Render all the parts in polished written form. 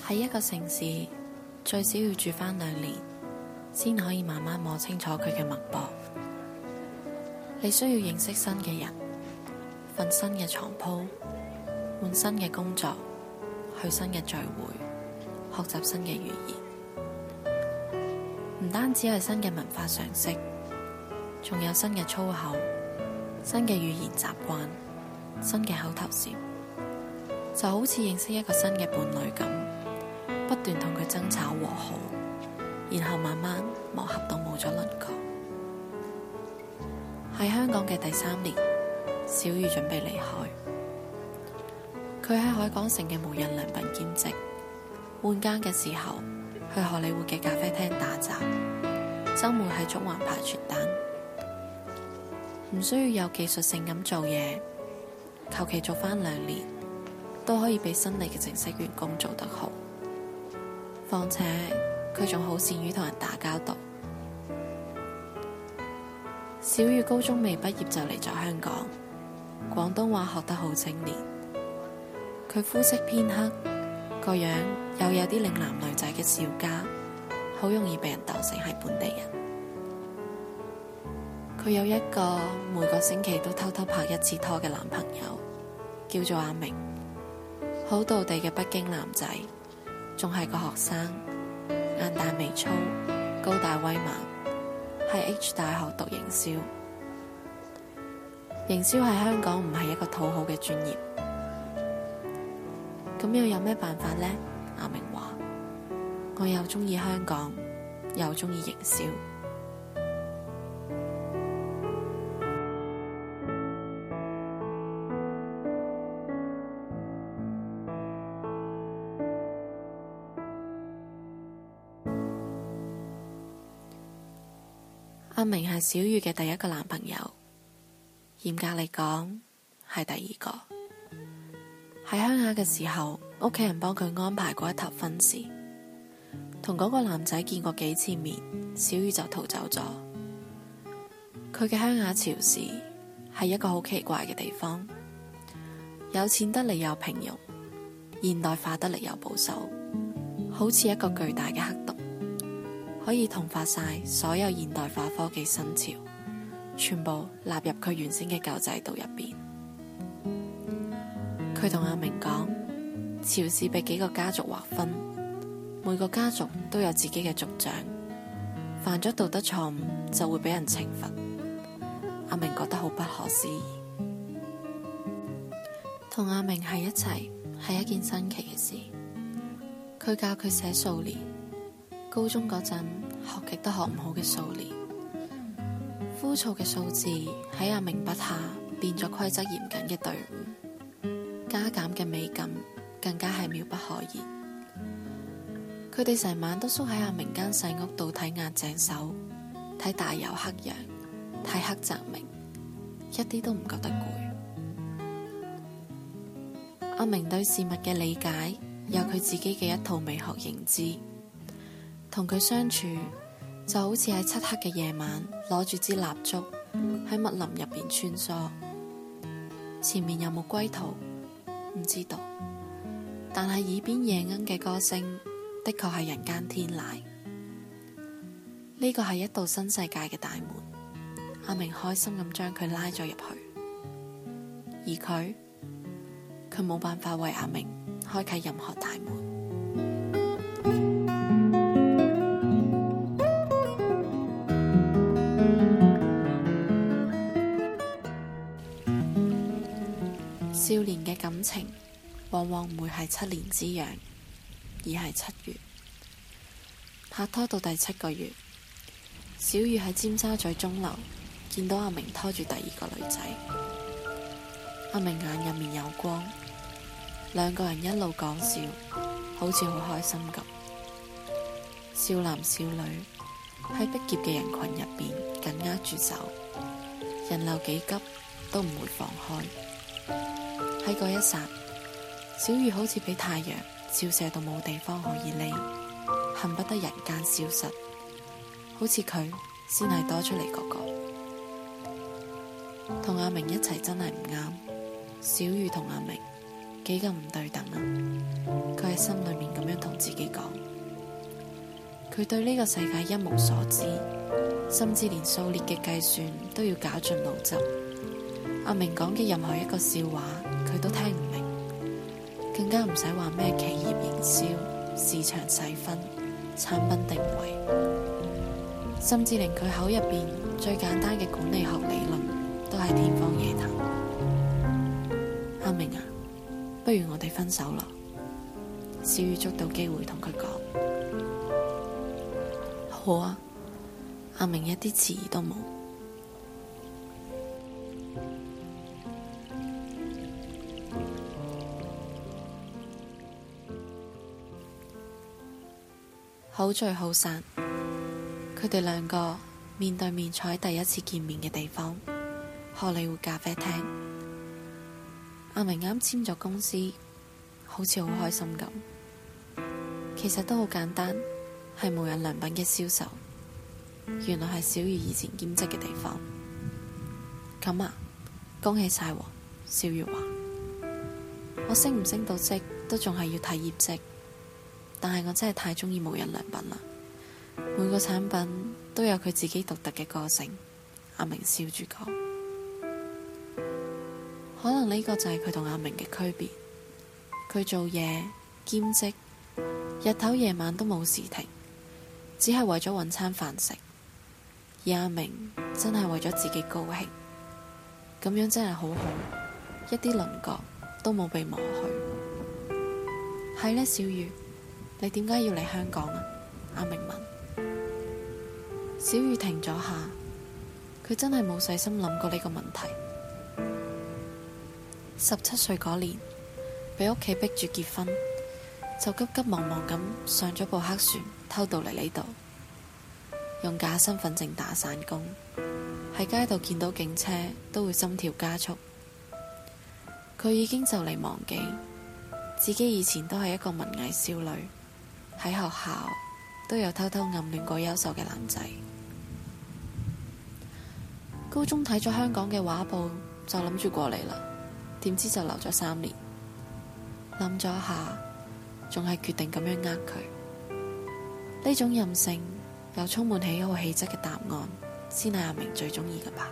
喺一個城市，最少要住返2年，先可以慢慢摸清楚佢嘅脈搏。你需要認識新嘅人，瞓新嘅床鋪，換新嘅工作，去新嘅聚會，學習新嘅語言。唔單止係新嘅文化常識，仲有新嘅粗口、新嘅語言習慣、新嘅口頭禪，就好似認識一個新嘅伴侶咁，不斷同佢爭吵和好，然後慢慢磨合到冇咗輪廓。喺香港嘅第3年，小雨準備離開。佢喺海港城嘅無印良品兼職，換更嘅時候去荷里活嘅咖啡廳打雜，周末喺中環派傳單。唔需要有技術性咁做嘢，求其做返2年，都可以比新嚟嘅正式員工做得好。況且佢仲好善於同人打交道。小雨高中未畢業就嚟咗香港，廣東話學得好精煉。佢膚色偏黑，個樣又有啲嶺南女仔嘅小家，好容易被人當成係本地人。佢有一個每個星期都偷偷拍1次拖嘅男朋友，叫做阿明，好道地嘅北京男仔，仲係個學生，眼大眉粗，高大威猛，喺 H 大學讀營銷。營銷喺香港唔係一個討好嘅專業，咁又有咩辦法呢？阿明話：我又鍾意香港，又鍾意營銷。阿明係小雨嘅第一個男朋友，嚴格嚟講係第2個。喺鄉下嘅時候，屋企人幫佢安排過一頭婚事，同嗰個男仔見過幾次面，小雨就逃走咗。佢嘅鄉下潮市係一個好奇怪嘅地方，有錢得嚟又平庸，現代化得嚟又保守，好似一個巨大嘅黑洞，可以同化晒所有現代化科技新潮，全部納入佢原先嘅舊制度入邊。佢同阿明講，潮市被幾個家族劃分，每個家族都有自己嘅族長，犯咗道德錯誤就會俾人懲罰。阿明覺得好不可思議。同阿明喺一齊係一件新奇嘅事。佢教佢寫數年，高中嗰陣學極都學唔好嘅數年，枯燥嘅數字喺阿明筆下變咗規則嚴謹嘅隊伍，加減嘅美感更加係妙不可言。佢哋成晚都縮喺阿明間細屋度睇押井守，睇大有克洋，睇黑澤明，一啲都唔覺得攰。阿明對事物嘅理解有佢自己嘅一套美學認知，同佢相處就好似喺漆黑嘅夜晚攞住支蠟燭喺密林入邊穿梭。前面有冇歸途唔知道，但係耳邊夜鶯嘅歌聲的確係人間天籟。呢個係一道新世界嘅大門，阿明開心咁將佢拉咗入去，而佢冇辦法為阿明開啟任何大門。少年嘅感情往往唔會係7年之癢，而係7月。拍拖到第7個月，小雨喺尖沙咀鐘樓見到阿明拖住第2個女仔。阿明眼入面有光，2個人一路講笑，好似好開心咁。少男少女喺逼仄嘅人群入邊緊握住手，人流幾急都唔會放開。喺嗰一剎，小雨好似俾太陽照射到冇地方可以匿，恨不得人間消失，好似佢先係多出嚟嗰個。同阿明一齊真係唔啱，小雨同阿明幾咁唔對等啊！佢喺心裏面咁樣同自己講，佢對呢個世界一無所知，甚至連數列嘅計算都要絞盡腦汁。阿明講嘅任何一個笑話，佢都聽唔明，更加唔使話咩企業營銷、市場細分、產品定位，甚至連佢口入邊最簡單嘅管理學理論都係天方夜譚。阿明啊，不如我哋分手啦！小雨捉到機會同佢講，好啊。阿明一啲遲疑都冇。好聚好散，佢哋兩個面對面坐喺第一次見面嘅地方——荷里活咖啡廳。阿明啱簽咗公司，好似好開心咁。其實都好簡單，係無印良品嘅銷售。原來係小雨以前兼職嘅地方。咁啊，恭喜晒喎！小雨話：我升唔升到職都仲係要睇業績，但係我真係太鍾意無印良品啦。每個產品都有佢自己獨特嘅個性。阿明笑住講：可能呢個就係佢同阿明嘅區別。佢做嘢兼職，日頭夜晚都冇時停，只係為咗搵餐飯食。而阿明真係為咗自己高興，咁樣真係好好，一啲稜角都冇被磨去。係呢，小雨，你點解要嚟香港啊？阿明問。小雨停咗下，佢真係冇細心諗過呢個問題。17歲嗰年，俾屋企逼住結婚，就急急忙忙咁上咗部黑船，偷渡嚟呢度。用假身份證打散工，喺街度見到警車都會心跳加速。佢已經就嚟忘記自己以前都係一個文藝少女，喺學校都有偷偷暗戀過優秀嘅男仔。高中睇咗香港嘅畫報，就諗住過嚟啦，點知就留咗3年。諗咗下，仲係決定咁樣佢。呢種任性又充滿喜好氣質嘅答案，先係阿明最鍾意嘅吧。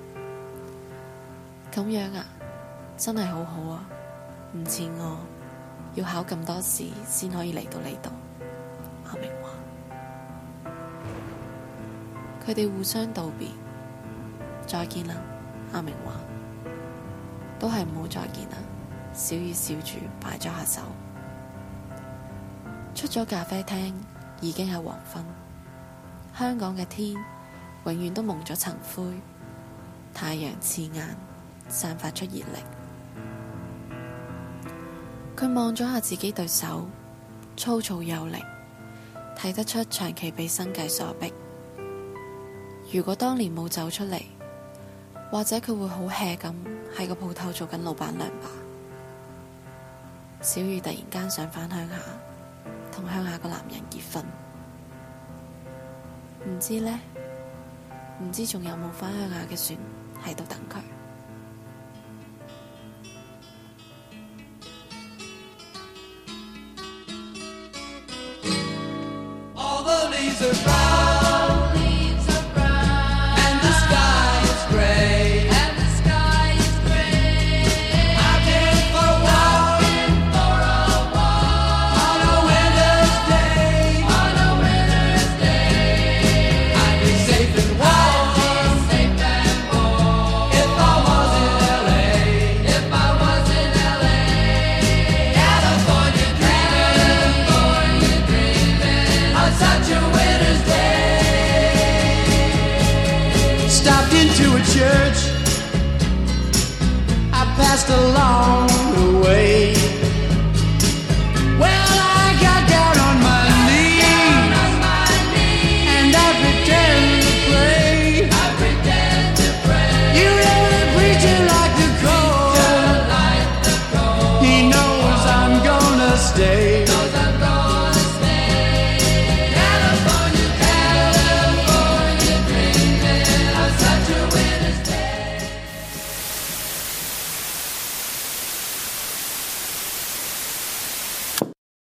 咁樣啊，真係好好啊，唔似我要考咁多試先可以嚟到呢度。阿明話。佢哋互相道別，再見啦。阿明話，都係唔好再見啦。小雨笑住擺咗下手，出咗咖啡廳，已經係黃昏。香港嘅天永遠都蒙咗層灰，太陽刺眼，散發出熱力。佢望咗下自己對手，粗糙有力，睇得出長期被生計所逼。如果當年冇走出嚟，或者佢會好 hea 咁喺個鋪頭做緊老闆娘吧。小雨突然間想返鄉下，同鄉下個男人結婚。唔知呢？唔知仲有冇返鄉下嘅船喺度等佢。 Church I passed along the way.